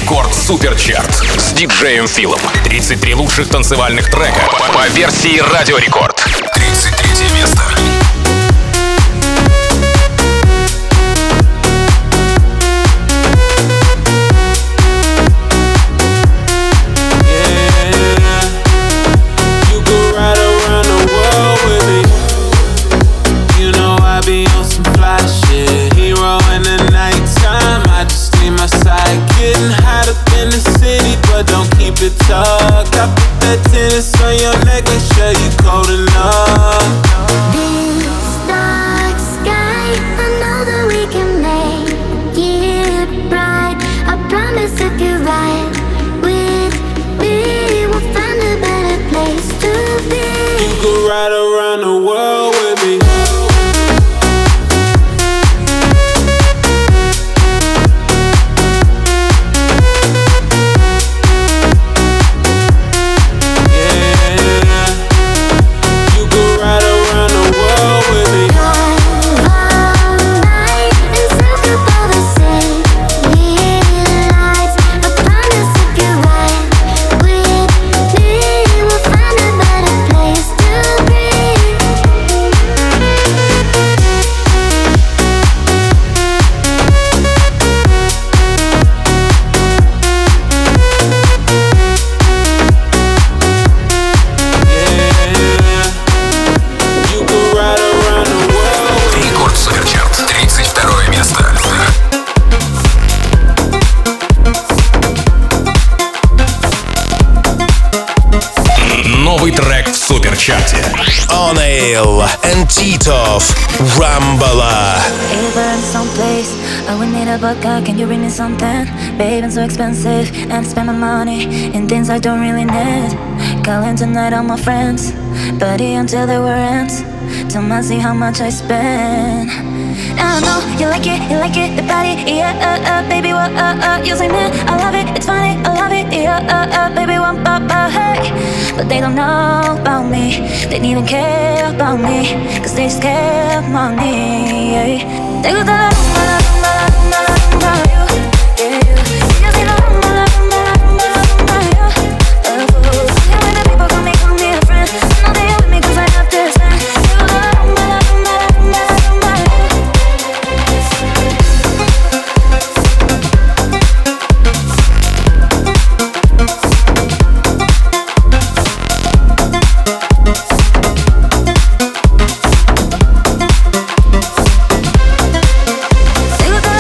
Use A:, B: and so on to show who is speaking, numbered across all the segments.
A: Рекорд Суперчарт с диджеем Филом. 33 лучших танцевальных трека по версии Радио Рекорд. 33 место.
B: Don't keep it tucked. I put that tennis on your neck, make sure you cold enough.
C: This dark sky, I know that we can make it bright. I promise if you're right with me, we'll find a better place to be.
B: You could ride around the world with me.
D: Oneil and Titov, Rambala.
E: If we're in someplace, I would need a vodka, can you bring me something? Babe, it's so expensive, and spend my money in things I don't really need. Calling tonight on my friends, party until the war ends. Tell me see how much I spend. I know you like it, the body, yeah, baby, what, you say, man, I love it, it's funny, I love it, yeah, baby, what, hey. But they don't know about me, they don't even care about me, cause they just care of money, yeah. They go to la rumba, la rumba, la rumba, la rumba, you, yeah, you. You say la rumba, la rumba, la rumba, la rumba, you. Yeah, when the people call me a friend, I know they are with me cause I have this, man. They go to la rumba, la rumba, la rumba, la rumba, you. They go to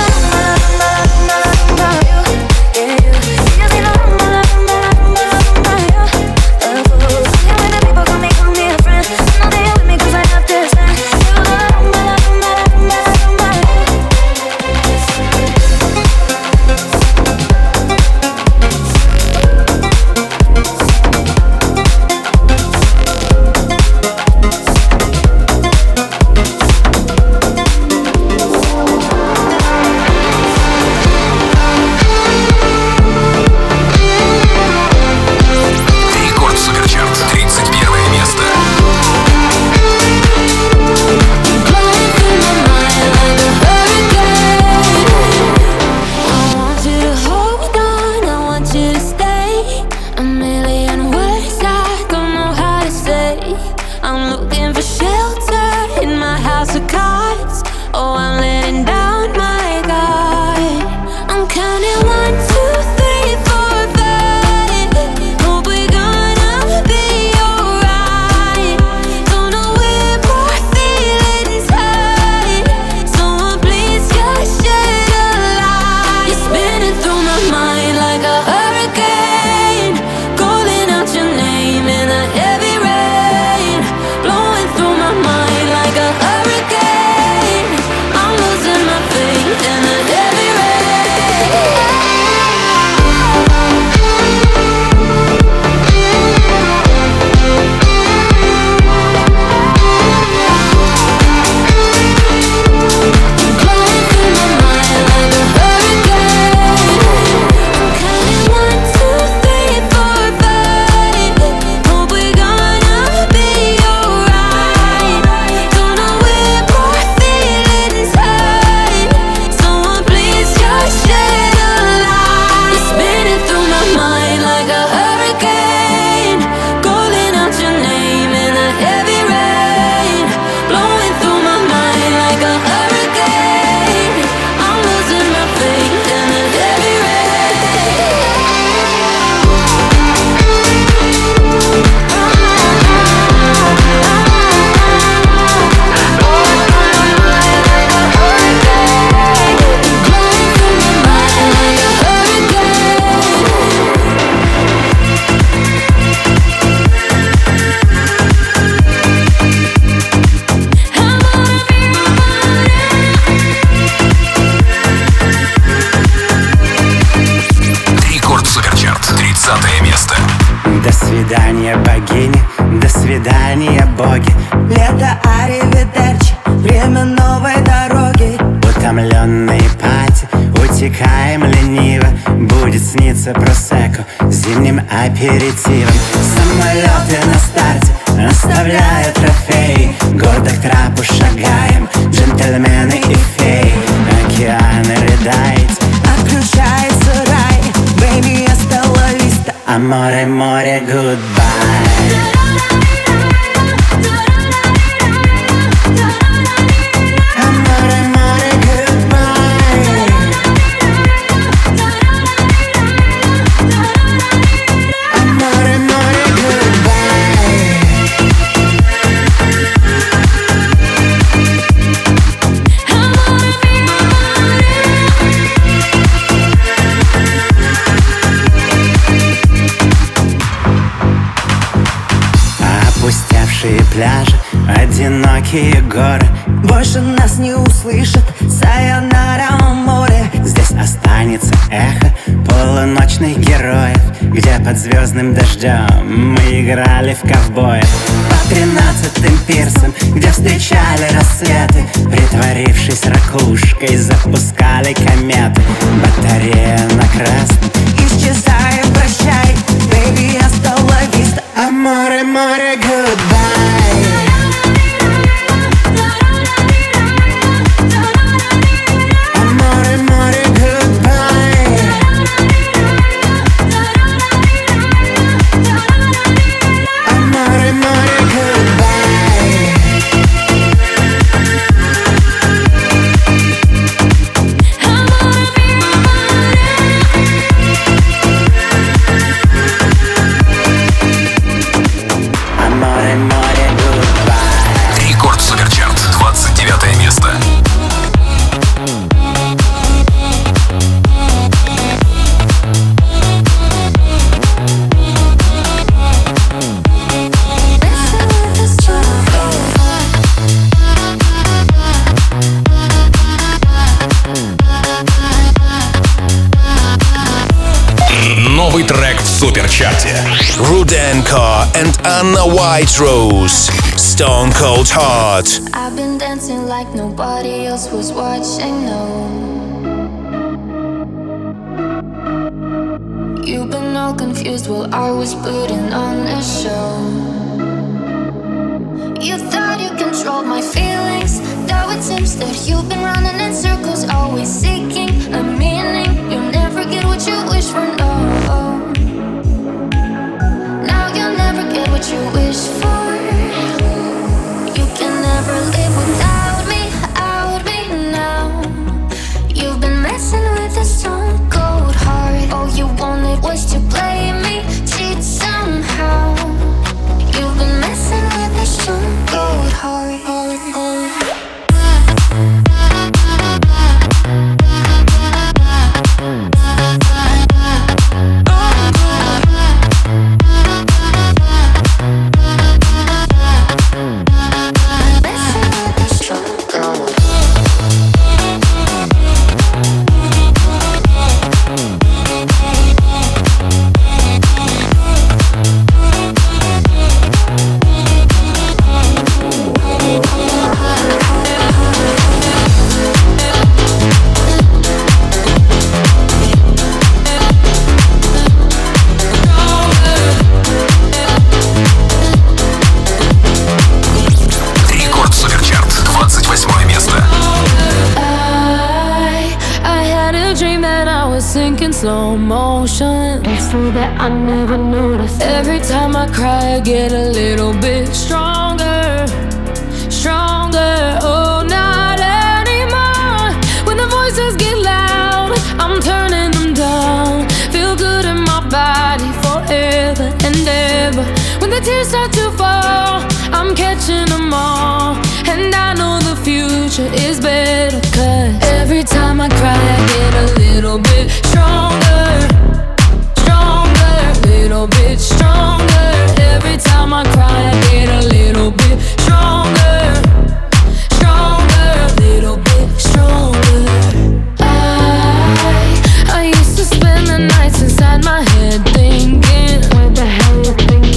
F: свидания, богини, до свидания, боги. Лето, аривидерчи, время новой дороги. Утомленные пати, утекаем лениво. Будет сниться просекко зимним аперитивом. Самолеты на старте оставляют трофеи. Гордо к трапу шагаем, джентльмены и феи. Океаны рыдает, отключается рай. Baby, hasta la vista, amore, море, goodbye. Опустевшие пляжи, одинокие горы. Больше нас не услышат, сайонара море. Здесь останется эхо полуночных героев, где под звездным дождем мы играли в ковбоев. По 13-м пирсам, где встречали рассветы, притворившись ракушкой, запускали кометы. Батарея на красном, исчезаем, прощай. Baby, hasta la vista, amore, море, goodbye. Amore, море, goodbye. Amore, море, goodbye. Amore, море, goodbye.
A: Рекорд Суперчарт, 29 место. Новый трек в Суперчарте.
D: Rudenko and Anna Whiterose, Stone Cold Heart.
E: I've been dancing like nobody else was watching, no. You've been all confused while I was putting on a show. You thought you controlled my feelings, though it seems that you've been running in circles, always seeking a meaning. You never get what you wish for, no. Now you'll never get what you wish for. You can never live without me now. You've been messing with a stone cold heart. All you wanted was to play me, cheat somehow. You've been messing with a stone cold heart.
G: Slow motion, it's so that I never noticed. Every time I cry, I get a little bit stronger, stronger. Oh, not anymore. When the voices get loud, I'm turning them down. Feel good in my body forever and ever. When the tears start to fall, I'm catching them all. And I know the future is better, 'cause every time I cry, I get a little bit stronger, stronger, little bit stronger. Every time I cry, I get a little bit stronger, stronger, little bit stronger. I used to spend the nights inside my head thinking, what the hell you thinking?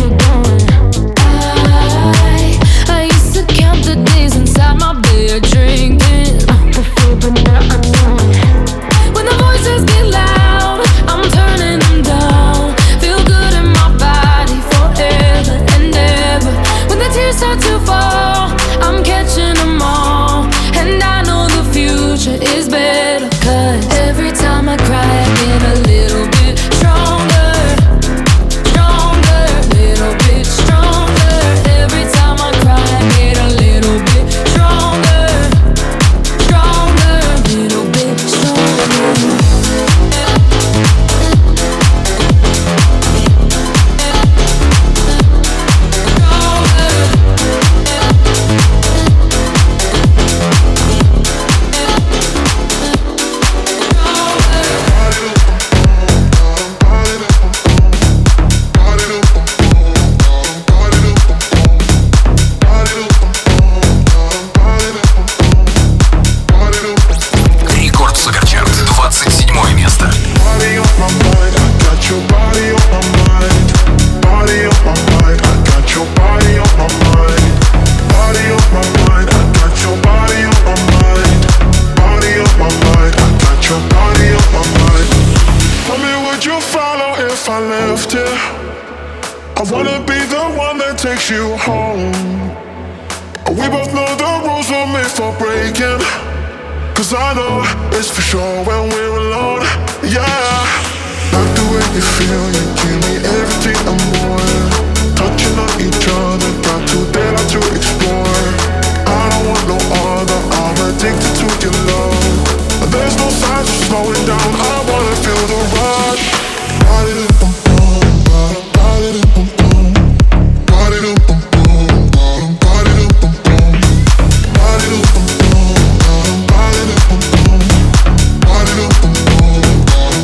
H: would you follow if I left here? I wanna be the one that takes you home. We both know the rules were made for breaking. Cause I know it's for sure when we're alone. Yeah, like the way you feel, you give me everything and more. Touching on each other, got too dare to explore. I don't want no other, I'm addicted to your love. There's no signs of slowing down, I wanna feel the rush. Body-dum-bum-bum, body-dum-bum-bum, body-dum-bum-bum, body-dum-bum-bum, body-dum-bum-bum, body-dum-bum-bum, body-dum-bum-bum,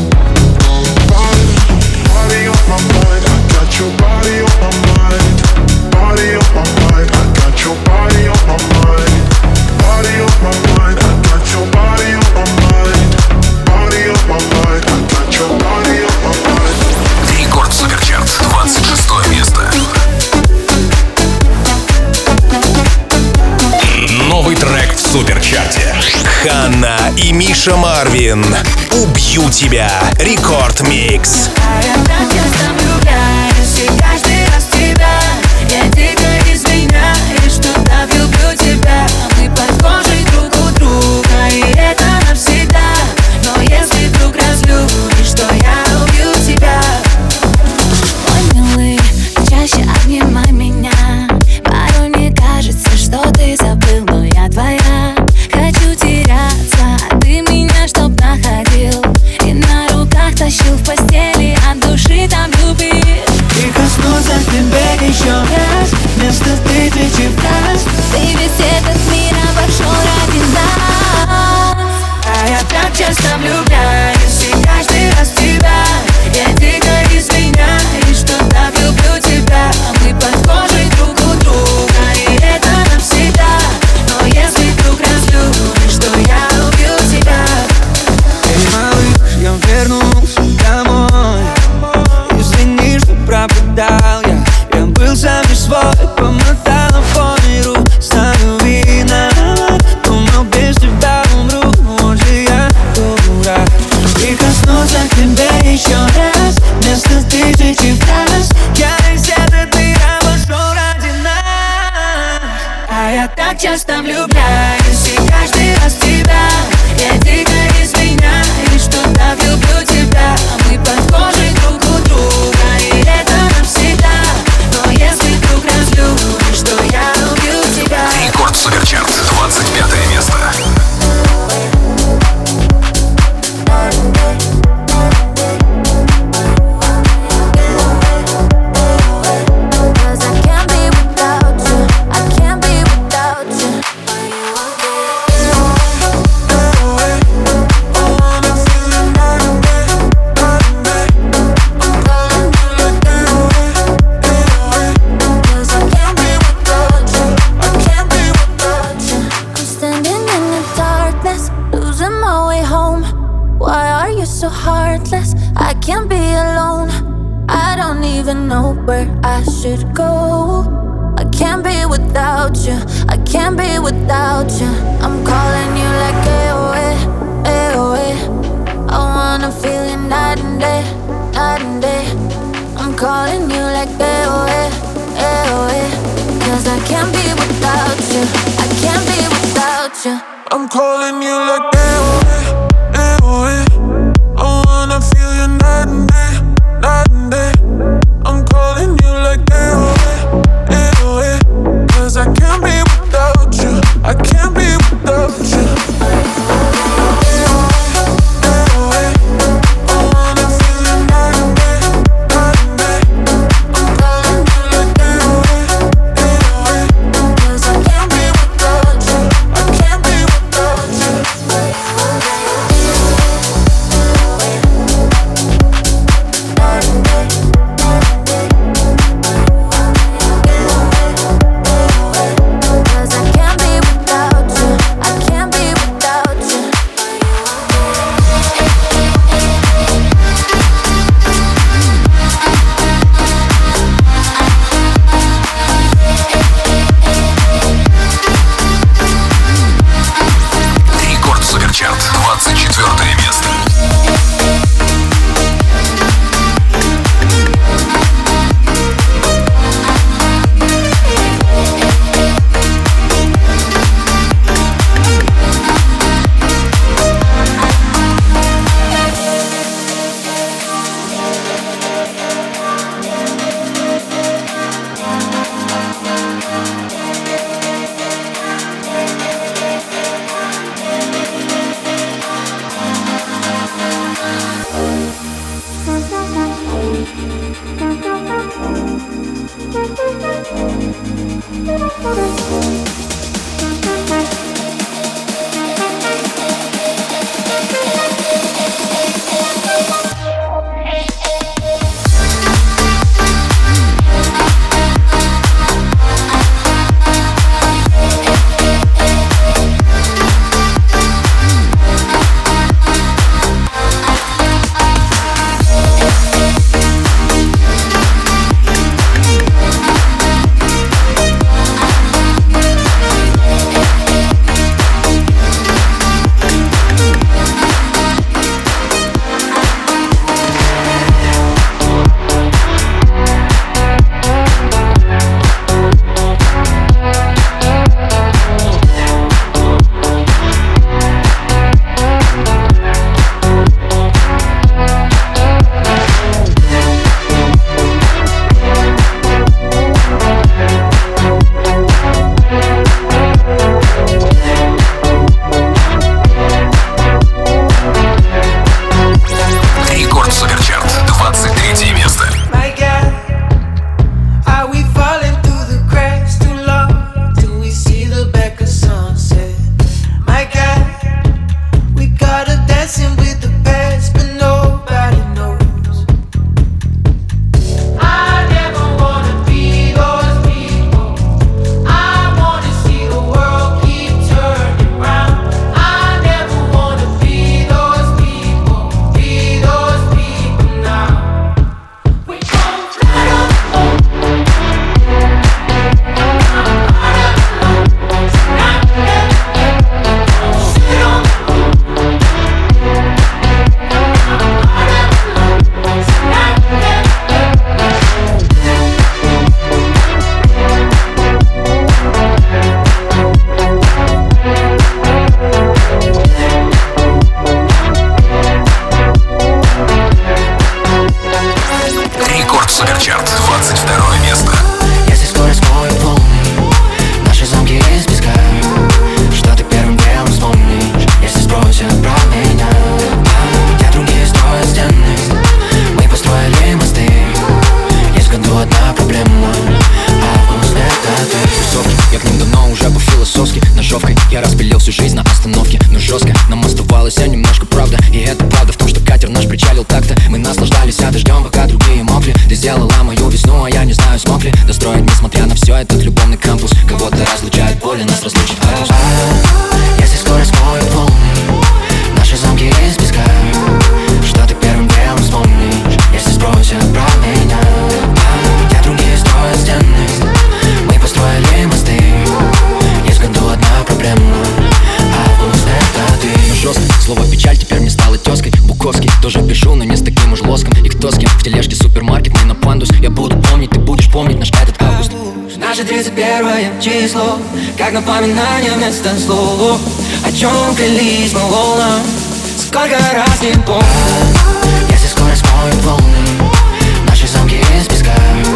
H: body on my mind, I got your body on my mind. Body on my mind, I got your body on my mind. Body on my mind, I got your body on my mind. Body on my mind, I got your body on my mind.
A: Рекорд Суперчарт, 26 место. Новый трек в Суперчарте.
D: Ханна и Миша Марвин. Убью тебя. Рекорд Микс.
I: Я так часто влюбляюсь, и каждый раз в тебя. Я дико извиняюсь, что так люблю тебя. Мы под кожей друг у друга, и это навсегда. Но если вдруг разлюбишь, то я убью тебя. Ой, милый, чаще обнимай меня. Порой мне кажется, что ты забыл, но я твоя. Хочу теряться, а ты меня чтоб находил. И на руках тащил в постели, от души там любишь.
F: И коснуться тебя еще раз, вместо тысячи фраз.
I: Ты ведь этот мир обошел ради нас. А я так часто влюбляюсь, и каждый раз в тебя. Я дико извиняюсь, что так люблю тебя. Мы под кожей друг у друга, и это навсегда. Но если вдруг разлюбишь, то я убью тебя.
F: Эй, малыш, я вернулся домой. Извини, что пропадал я. Я был сам не свой, помотал по миру. Знаю, виноват, думал, без тебя умру. Может, я дурак. И коснуться тебя еще раз, вместо тысячи фраз. Я весь этот мир обошел ради нас.
I: А я так часто влюбляюсь, и каждый раз в тебя. Я дико извиняюсь, что так люблю тебя. Мы под кожей друг у друга, и это навсегда. Но если вдруг разлюбишь, то я убью тебя.
A: Рекорд Суперчарт, 25 место.
B: I'm calling you like AOA, AOA. I wanna feel you night and day, night and day. I'm calling you like AOA, AOA. Cause I can't be without you, I can't be without you.
F: Число, как напоминание вместо слов. О чем клялись мы волнам, сколько раз не помню. Если скоро смоют волны наши замки из песка,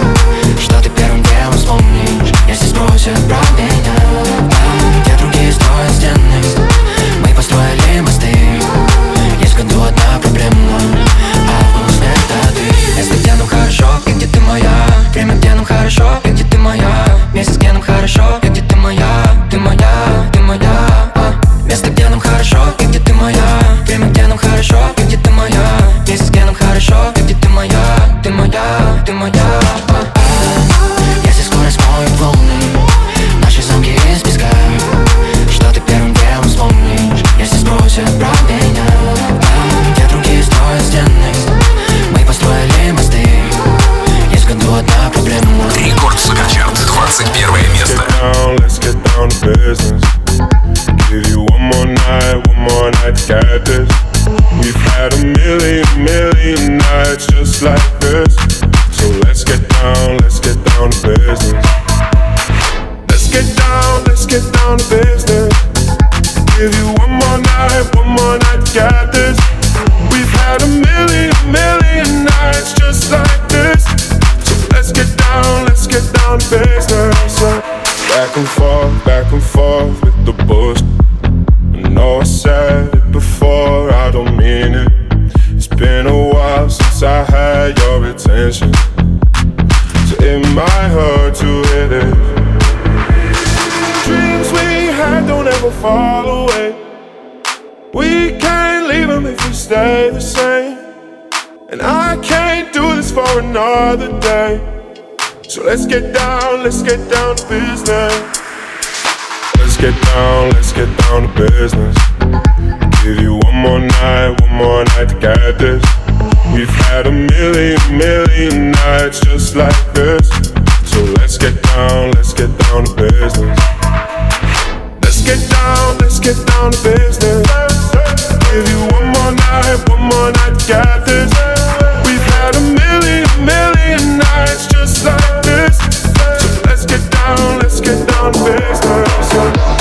F: что ты первым делом вспомнишь, если спросят про меня. Где другие строят стены, мы построили мосты. Есть в году одна проблема, август это ты. Место, где нам хорошо, и где ты моя. Время, где нам хорошо, и где ты моя. Месяц, где нам хорошо, и где ты моя, ты моя, ты моя. Место, где нам хорошо, и где ты моя. Время, где нам хорошо, и где ты моя. Месяц, где нам хорошо, и где ты моя, ты моя, ты моя. Если скоро смоют волны наши замки из песка, что ты первым делом вспомнишь, если спросят про меня. Где другие строят стены, мы построили мосты. Есть в году одна проблема.
A: Рекорд Суперчарт, 21 место.
H: Let's get down to business. Give you one more night to get this. We've had a million nights just like this. So let's get down to business. Let's get down to business. Give you one more night to get this. We've had a million nights just like this. So let's get down to business. Back and forth with the bullshit. I know I said it before, I don't mean it. It's been a while since I had had your attention, so it might hurt to hit it. Dreams we had don't ever fall away. We can't leave them if we stay the same. And I can't do this for another day. So let's get down to business. Let's get down to business. Give you one more night to get this. We've had a million nights just like this. So let's get down to business. Let's get down to business. Give you one more night to get this. We've had a million nights just like this. So let's get down to business.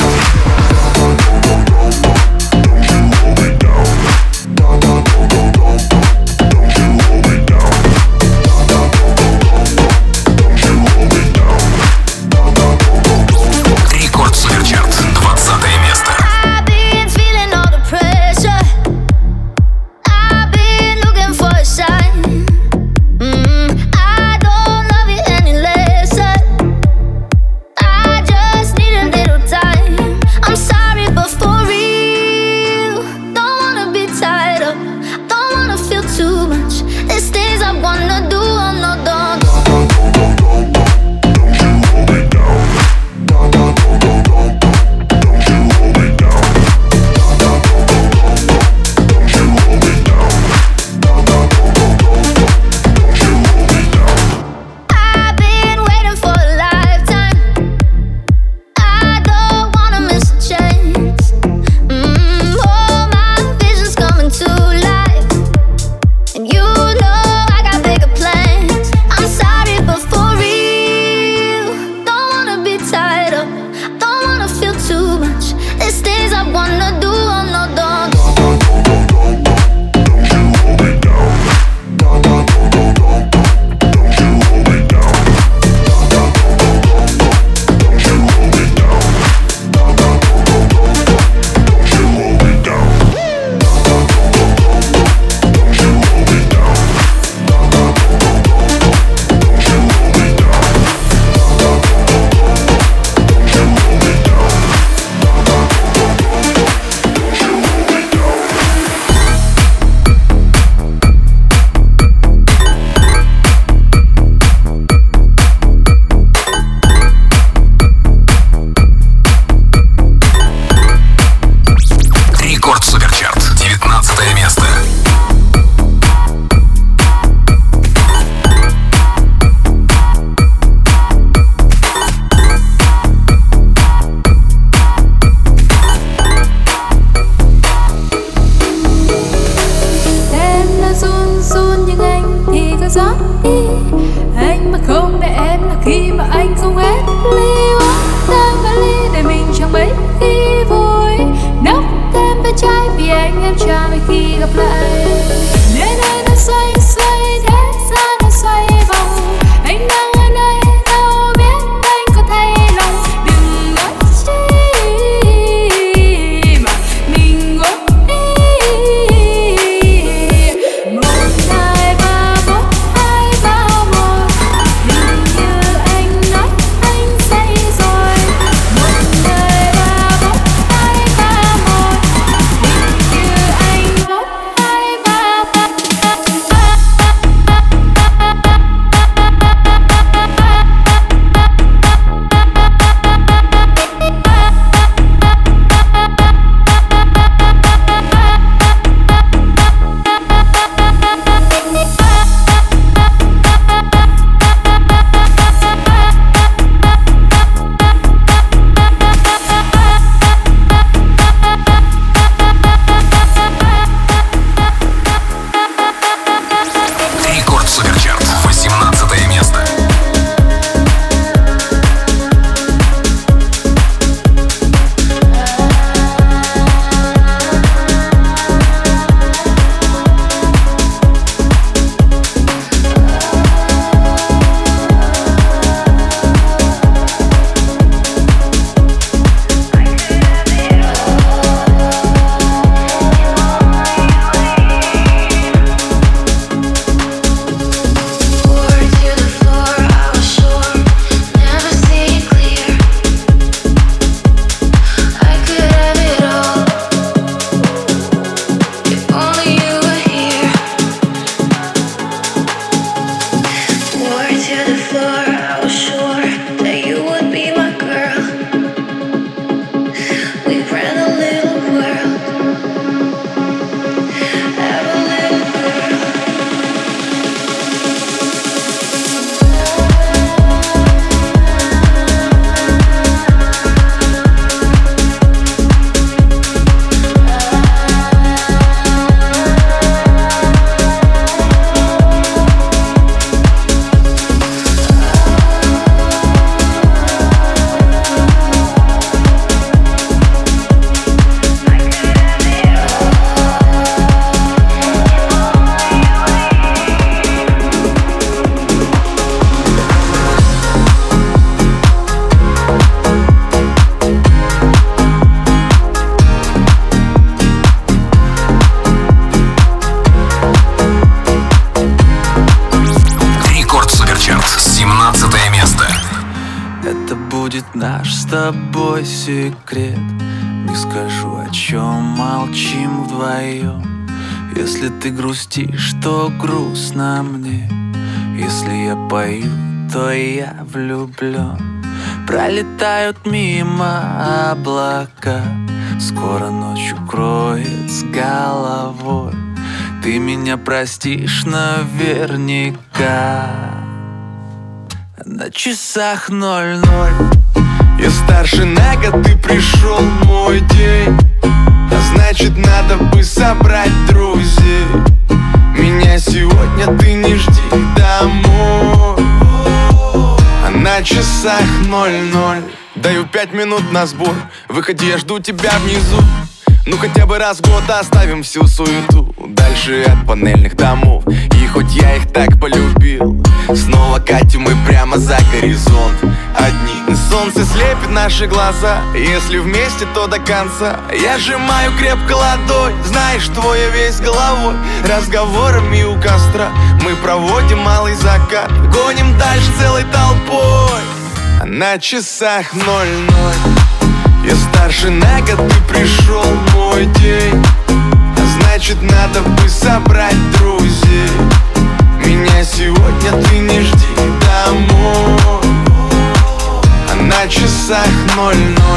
F: будет наш с тобой секрет. Не скажу, о чем молчим вдвоем. Если ты грустишь, то грустно мне. Если я пою, то я влюблен. Пролетают мимо облака, скоро ночь укроет с головой. Ты меня простишь наверняка. На часах 00. Я старше на год, ты пришел мой день. А значит, надо бы собрать друзей. Меня сегодня ты не жди домой. А на часах 00. Даю 5 минут на сбор. Выходи, я жду тебя внизу. Ну хотя бы раз в год оставим всю суету дальше от панельных домов. И хоть я их так полюбил, снова катим мы прямо за горизонт. Одни солнце слепит наши глаза. Если вместе, то до конца. Я сжимаю крепко ладонь, знаешь, что я весь головой. Разговорами у костра мы проводим малый закат. Гоним дальше целой толпой. А на часах 00. Я старше на год, ты пришел мой день. А значит, надо бы собрать друзей. Меня сегодня ты не жди домой. А на часах 00.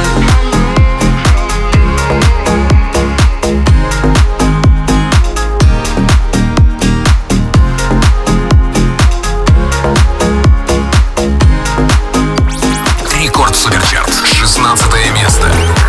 A: Рекорд Суперчарт, 16 место.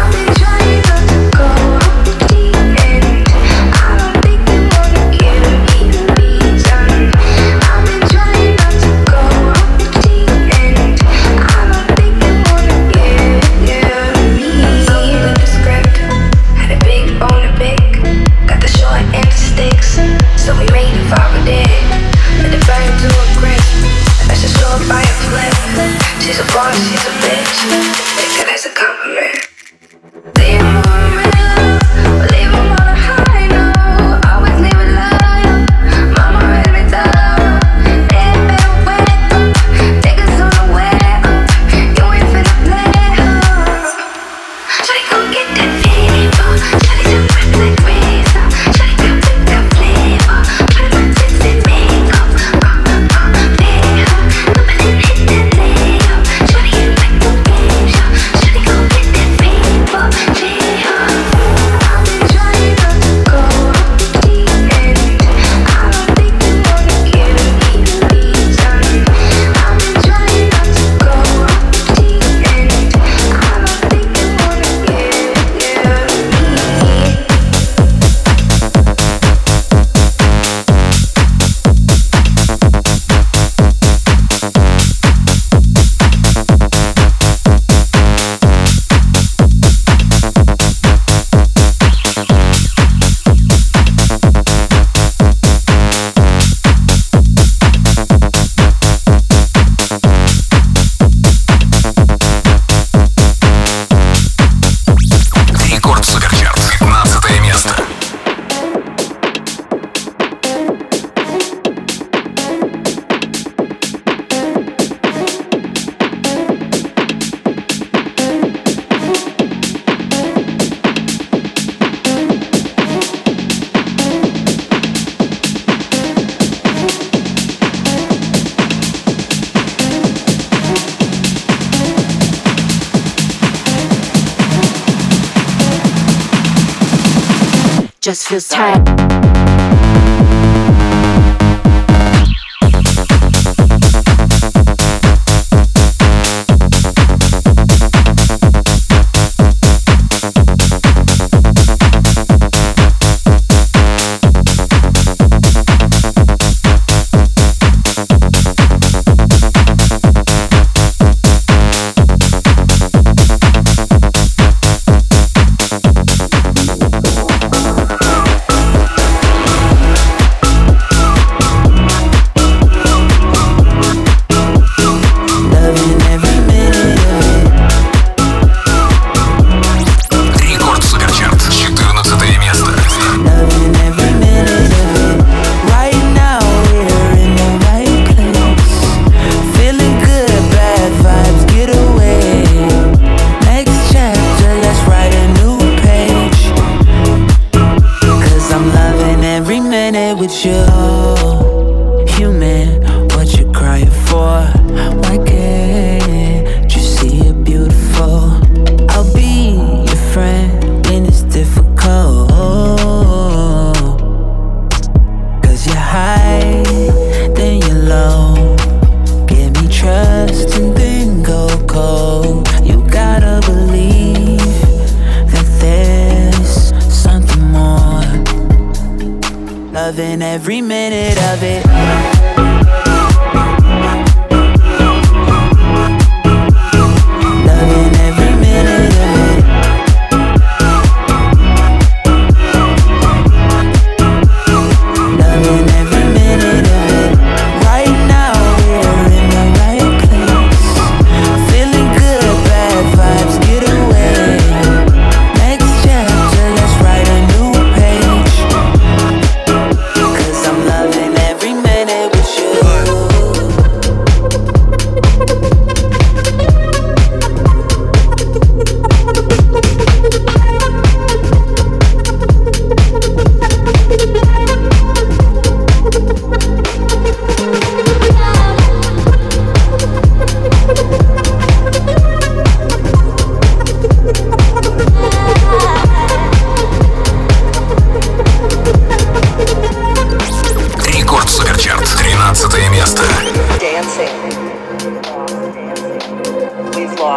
J: She's a boss, she's a bitch. Take it as a compliment.
K: Just feels tight.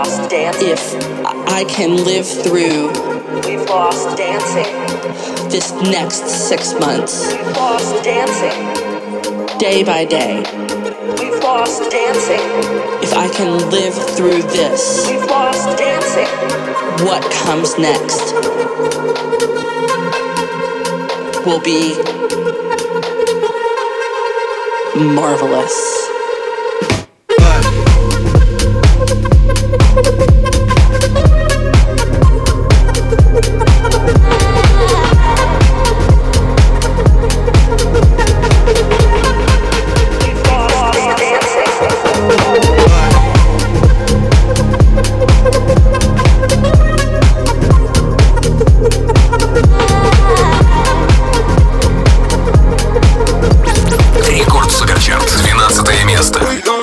L: lost dancing.
M: If I can live through,
L: we've lost dancing.
M: This next 6 months,
L: we've lost dancing.
M: Day by day,
L: we've lost dancing.
M: If I can live through this,
L: we've lost dancing.
M: What comes next will be marvelous.
A: Рекорд Суперчарт, 12 место.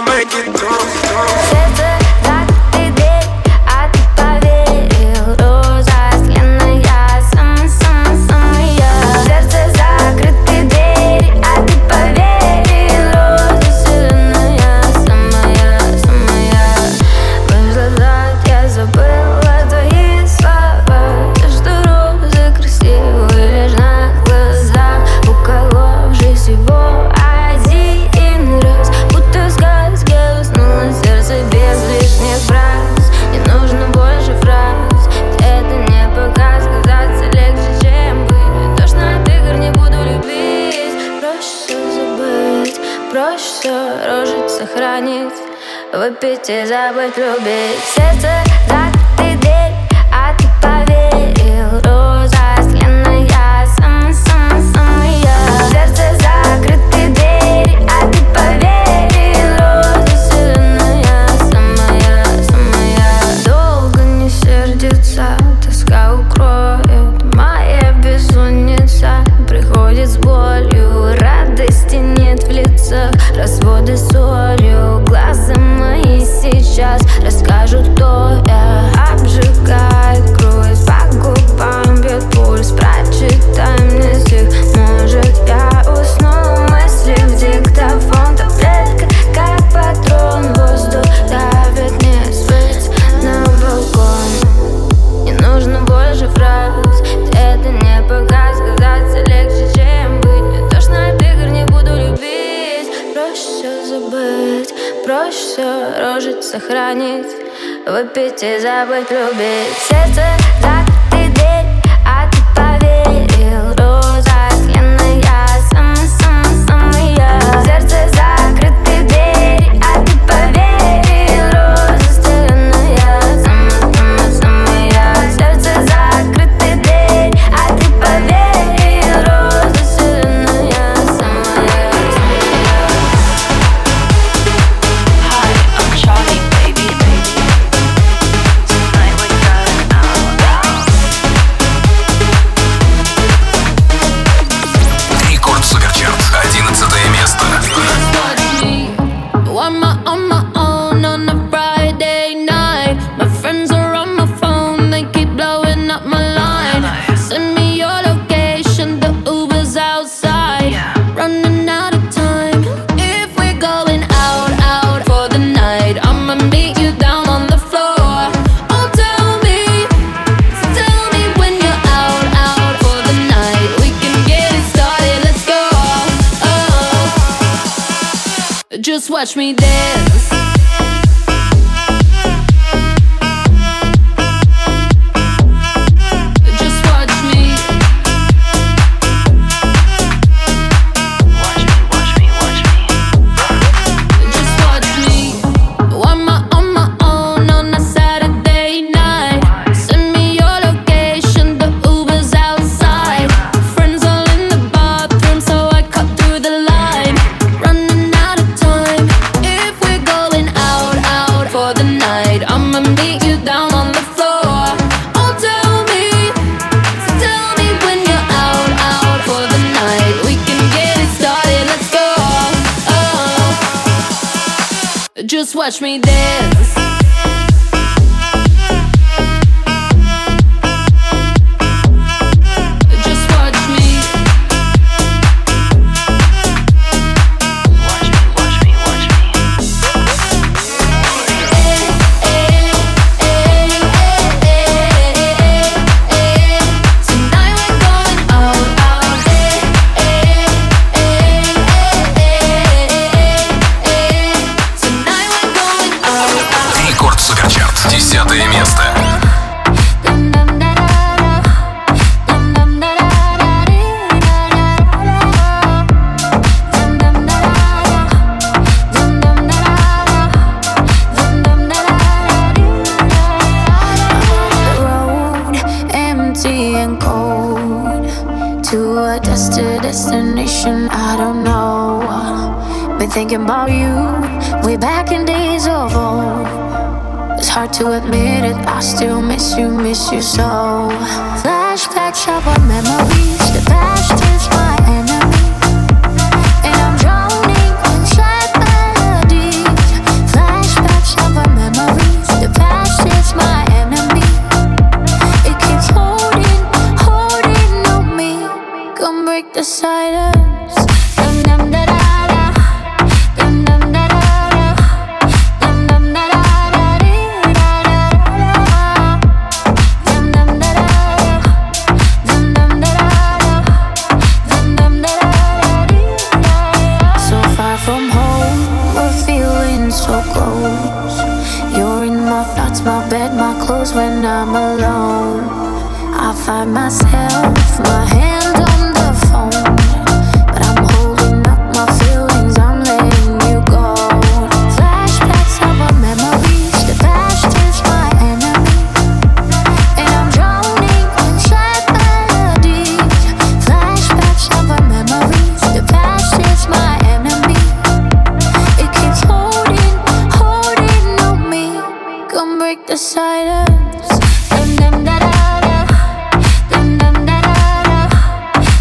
E: Выпить и забыть любить. Сердце закрытый дверь, а ты поверил. Роза сленная, самая. Сердце закрытый дверь, а ты поверил. Роза сленая, самая. Долго не сердится, тоска укроет. Моя бессонница приходит с болью. Радости нет в лицах, разводы солью. Глаза мои сейчас расскажут, кто я. Обжигает кровь, по губам бьет пульс. Прочитай мне стих, может я усну. Мысли в диктофон, таблетка как патрон. Воздух давит мне свет на балкон. Не нужно больше фраз, это не показ. Казаться легче, чем быть. Мне тошно от игр, не буду любить. Проще все забыть, проще все рожить, сохранить. Выпить и забыть любить. Сердце закрытый дверь, а ты поверил. Роза сленная, самая. Сердце закрытый дверь, а ты поверил. Роза сленная, самая. Сердце закрытый дверь, а ты поверил. Роза сленная, самая.
J: Hi, I'm Charlie, baby. Tonight we're going out.
A: Рекорд Суперчарт, 11 место.
G: On my own on a Friday night. My friends are on my phone, they keep blowing up my line. Send me your location, the Uber's outside. Running out of time. If we're going out for the night, I'ma meet you down on the floor. Oh, tell me when you're out for the night. We can get it started, let's go. Oh. Just watch me dance. Just watch me.
J: Watch me.
G: Just watch me. On my own on a Saturday night. Send me your location, the Uber's outside. Friends all in the bathroom, so I cut through the line. Running out of time. If we're going out for the night, I'ma meet you down on the floor. Oh, tell me when you're out for the night. We can get it started, let's go. Oh. Just watch me dance. Just watch me.
J: Watch me.
G: thinking about you, way back in days of old. It's hard to admit it, I still miss you so. Flashbacks of our memories, the past is my enemy, and I'm drowning in sad melodies. Flashbacks of our memories, the past is my enemy. It keeps holding on me. Come break the silence. My bed, my clothes when I'm alone. I find myself, my hand on the phone, but I'm holding up my feelings, I'm letting you go. Flashbacks of our memories, the past is my enemy, and I'm drowning in sad melodies. Flashbacks of our memories, the past is my enemy. It keeps holding on me. Come break the silence.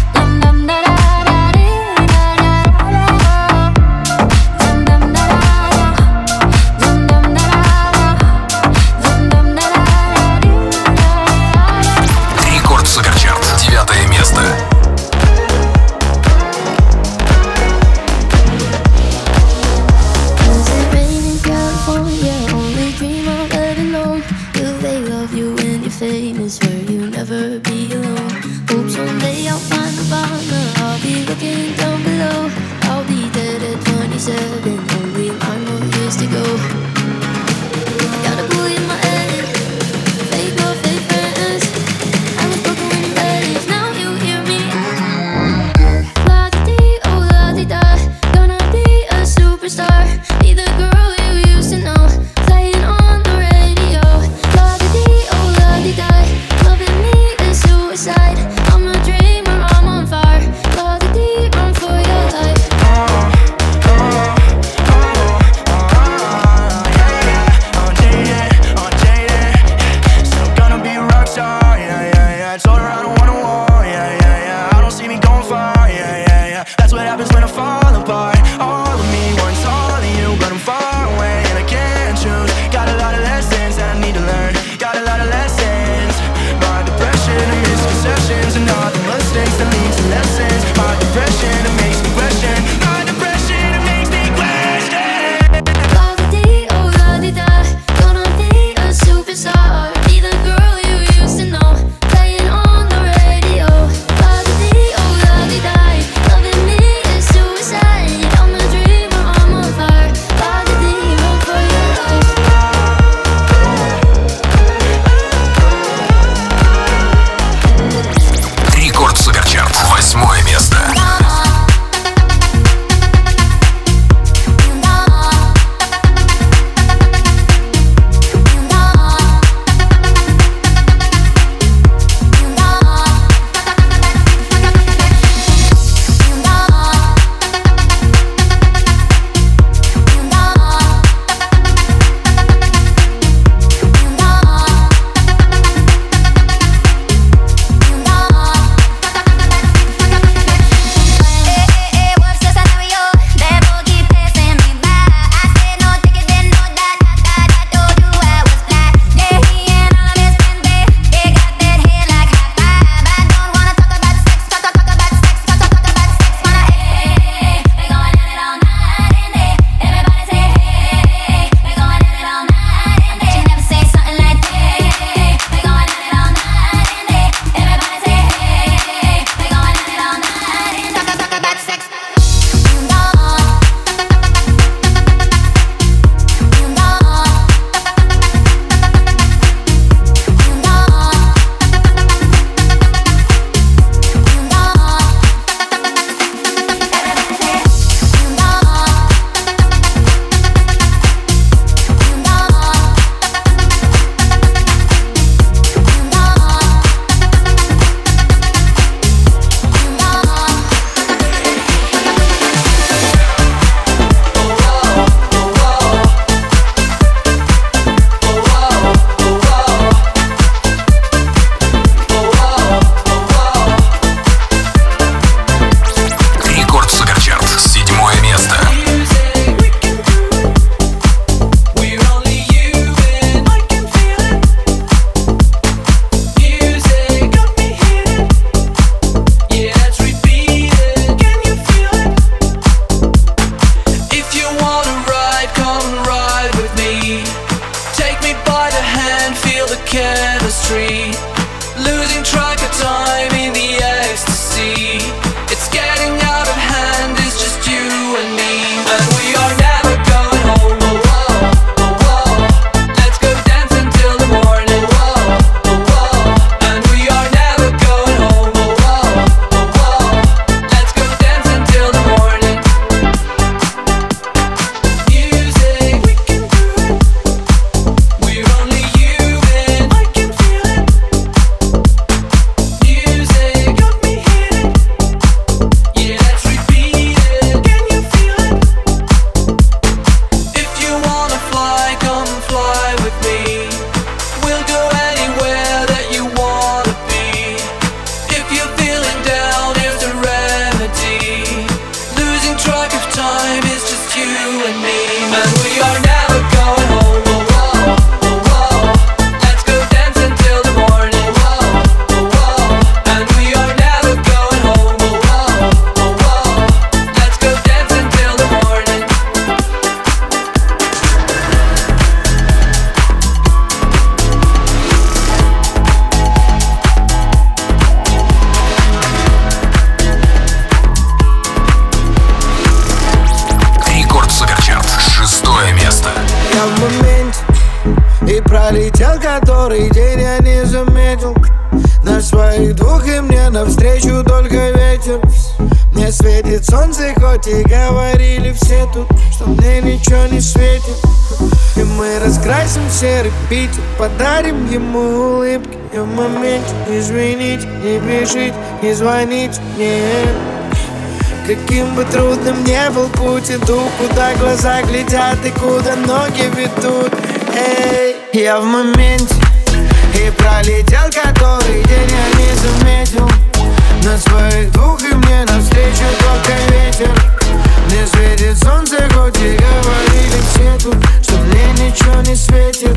F: пролетел который день, я не заметил. На своих двух и мне навстречу только ветер. Мне светит солнце, хоть и говорили все тут, что мне ничего не светит. И мы раскрасим серый Питер, подарим ему улыбки. И в моменте извините, не пишите, не звоните мне. Каким бы трудным ни был путь, иду, куда глаза глядят и куда ноги ведут. Эй, я в моменте, и пролетел который день, я не заметил. На своих двух и мне навстречу только ветер. Мне светит солнце, хоть и говорили все тут, что мне ничего не светит.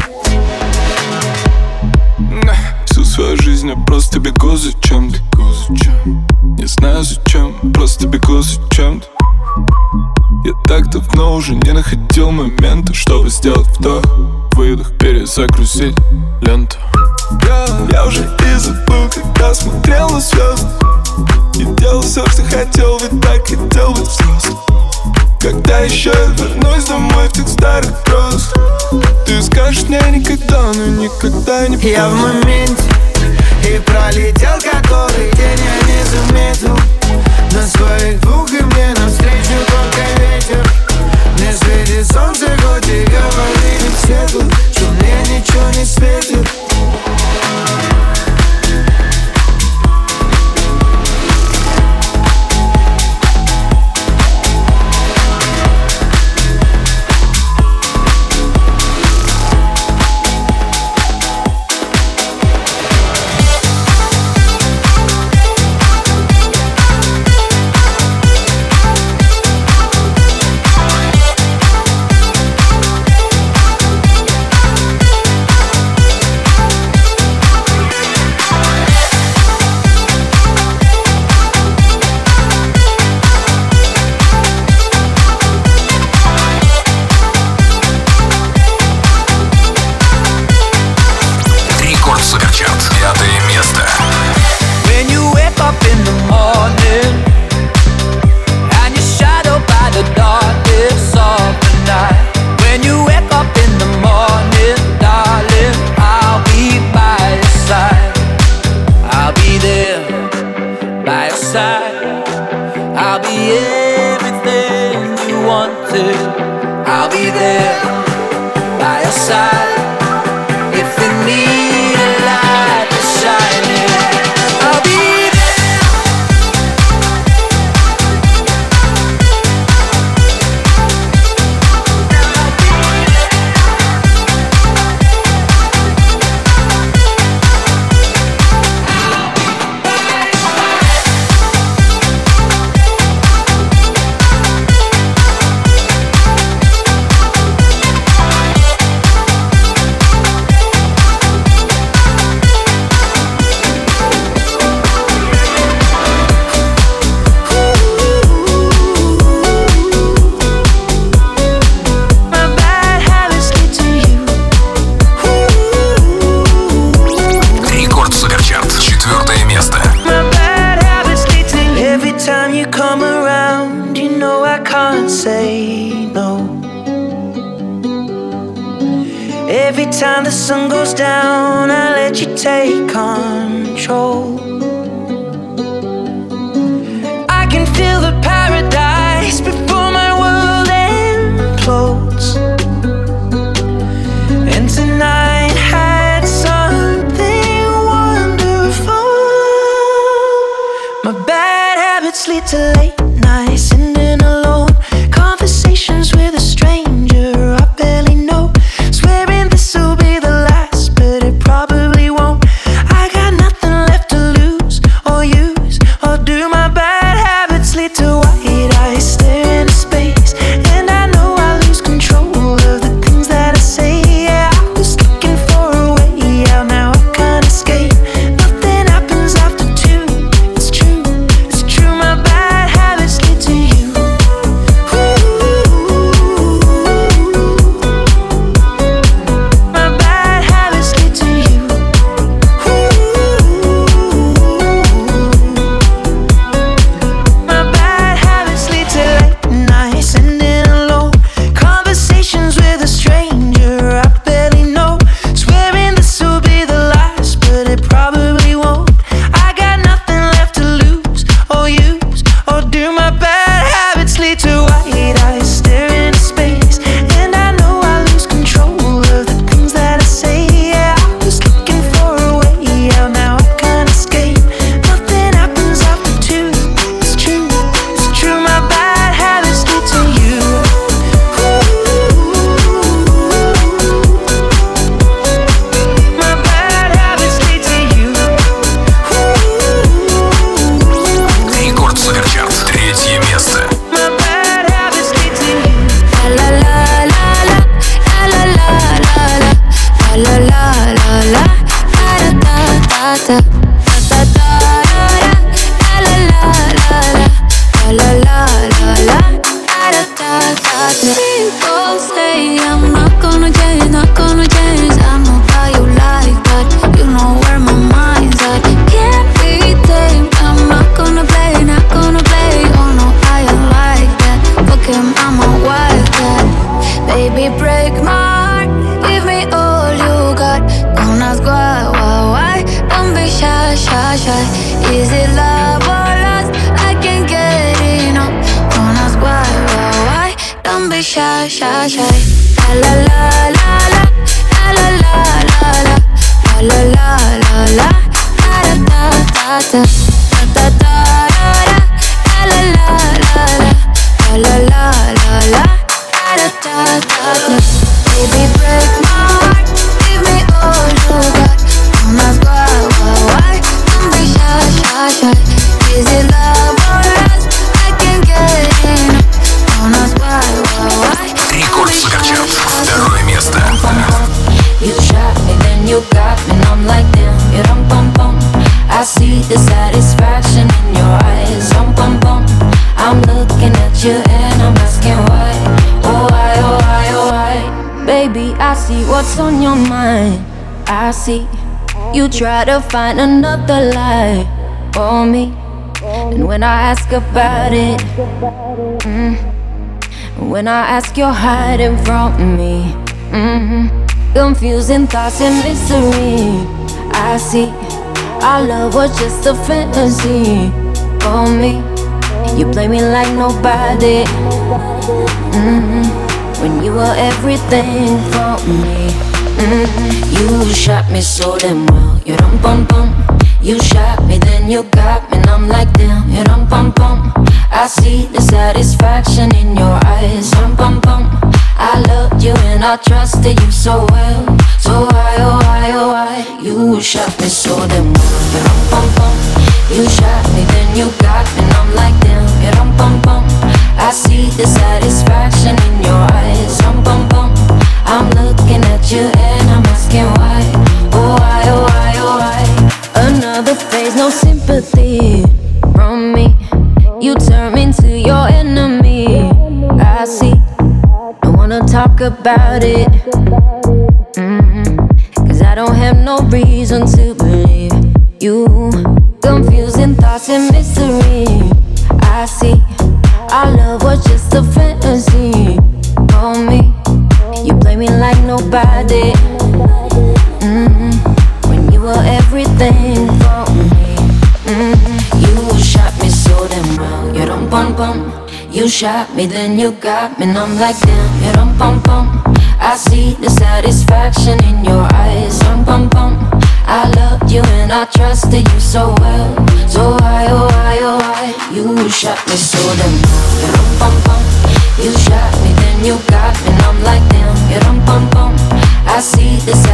N: Всю свою жизнь я просто бегу за чем-то. Не знаю зачем, просто бегу за чем-то. Я так давно уже не находил момента, чтобы сделать вдох, выдох, перезагрузить ленту. Я уже и забыл, когда смотрел на звезды. И делал все, что хотел, ведь так хотел быть взрослым. Когда еще я вернусь домой в тех старых грозах, ты скажешь мне никогда, но никогда не поздно.
F: Я в моменте, и пролетел который день, я не заметил. На своих двух и мне навстречу только ветер. Мне светит солнце, хоть и говорили все тут, что мне ничего не светит. Every time the sun goes down, I let you take control. I can feel the paradise before my world implodes. And tonight had something wonderful. My bad habits lead to late nights, sitting alone, conversations with a stranger I barely know. Swearing this'll be the last, but it probably won't. I got nothing left to lose or use or do. My bad habits lead to white eyes stare into space, and I know I lose control
E: Baby, break my heart, give me all you got. Don't ask why, don't be shy, shy, shy. Is it love or lust? I can't get enough. Don't ask why, don't be shy, shy, shy. La la la la la, la la la la la, la la la la, da da da da da, da da da da, la la la la, la la la la, da da da da. Baby, break my heart, give me all you got. Don't ask why, don't be shy, shy, shy. Is it love or lust? I can't get enough. Don't ask why.
A: Рекорд Суперчарт, второе место.
E: You shot me, then you got me, and I'm like damn, you dum bum bum. I see the satisfaction in your eyes, bum bum. I'm looking at you and I'm asking why, oh why, oh why, oh why. Baby, I see what's on your mind. I see you try to find another lie for me, and when I ask about it, when I ask, you're hiding from me. Confusing thoughts and mystery. I see our love was just a fantasy for me. You play me like nobody. When you were everything for me. You shot me so damn well. You dum bum bum. You shot me, then you got me, and I'm like damn. You dum bum bum. I see the satisfaction in your eyes, bum bum. I loved you and I trusted you so well. So why, oh why, oh why? You shot me so damn well. Bum bum. You shot me, then you got me, and I'm like damn. Bum bum. I see the satisfaction in your eyes, bum bum. I'm looking at you and I'm asking why. Oh why, oh why, oh why? Another phase, no sympathy from me. You turn me into your enemy. I see. Don't wanna talk about it. Cause I don't have no reason to believe you. Confusing thoughts and mystery. I see our love was just a fantasy for me. You play me like nobody. When you were everything for me. You shot me so damn well. You dum bum bum. You shot me, then you got me, and I'm like damn. You dum bum bum. I see the satisfaction in your eyes, bum bum. I loved you and I trusted you so well. So why, oh why, oh why? You shot me so damn well. You dum bum bum. You shot me, then you got me, and I'm like damn. You dum bum bum. I see the